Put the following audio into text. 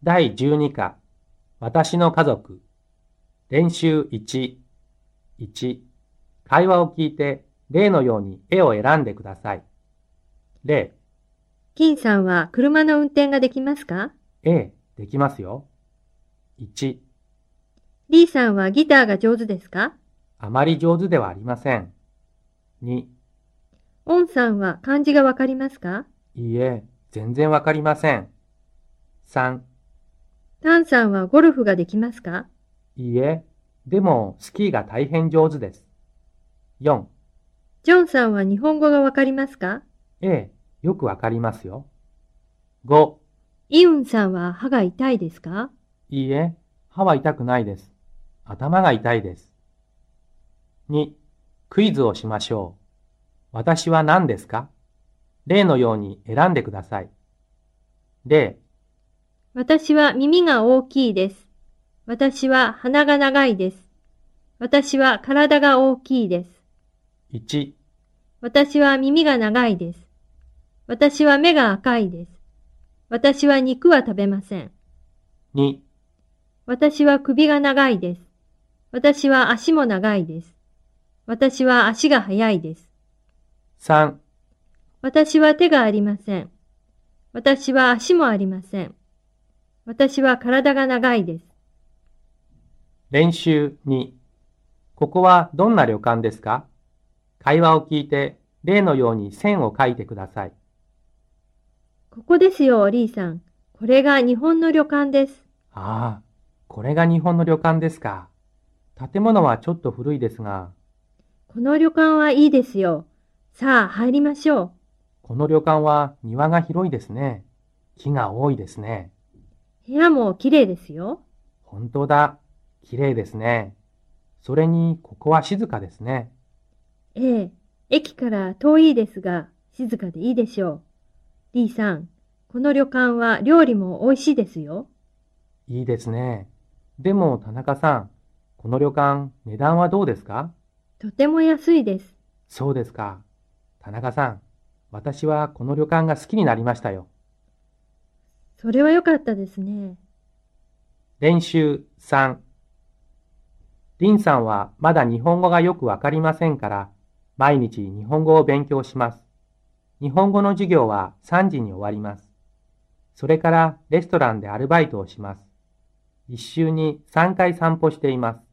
第12課、私の家族。練習1、1、会話を聞いて、例のように絵を選んでください。例、 金さんは車の運転ができますか？ A、できますよ。1、 D さんはギターが上手ですか？ あまり上手ではありません。2、 オンさんは漢字がわかりますか？ いいえ、全然わかりません。3、 タンさんはゴルフができますか？ いいえ、でもスキーが大変上手です。4、 ジョンさんは日本語がわかりますか？ A、よくわかりますよ。5、 イウンさんは歯が痛いですか？ いいえ、歯は痛くないです。頭が痛いです。2、クイズをしましょう。私は何ですか？例のように選んでください。例、 私は耳が大きいです。私は鼻が長いです。私は体が大きいです。 1、 私は耳が長いです。私は目が赤いです。私は肉は食べません。 2、 私は首が長いです。私は足も長いです。私は足が速いです。 3、 私は手がありません。私は足もありません。私は体が長いです。 練習2。ここはどんな旅館ですか？会話を聞いて、例のように線を書いてください。 ここですよ、リーさん。これが日本の旅館です。 ああ、これが日本の旅館ですか。建物はちょっと古いですが、 この旅館はいいですよ。さあ、入りましょう。 この旅館は庭が広いですね。木が多いですね。 部屋もきれいですよ。 本当だ。綺麗ですね。それに、ここは静かですね。 ええ、駅から遠いですが、静かでいいでしょう。リーさん、この旅館は料理も美味しいですよ。 いいですね。でも、田中さん、この旅館、値段はどうですか？ とても安いです。 そうですか。田中さん、私はこの旅館が好きになりましたよ。 それは良かったですね。 練習3。林さんはまだ日本語がよくわかりませんから、毎日日本語を勉強します。日本語の授業は3時に終わります。それからレストランでアルバイトをします。一週に3回散歩しています。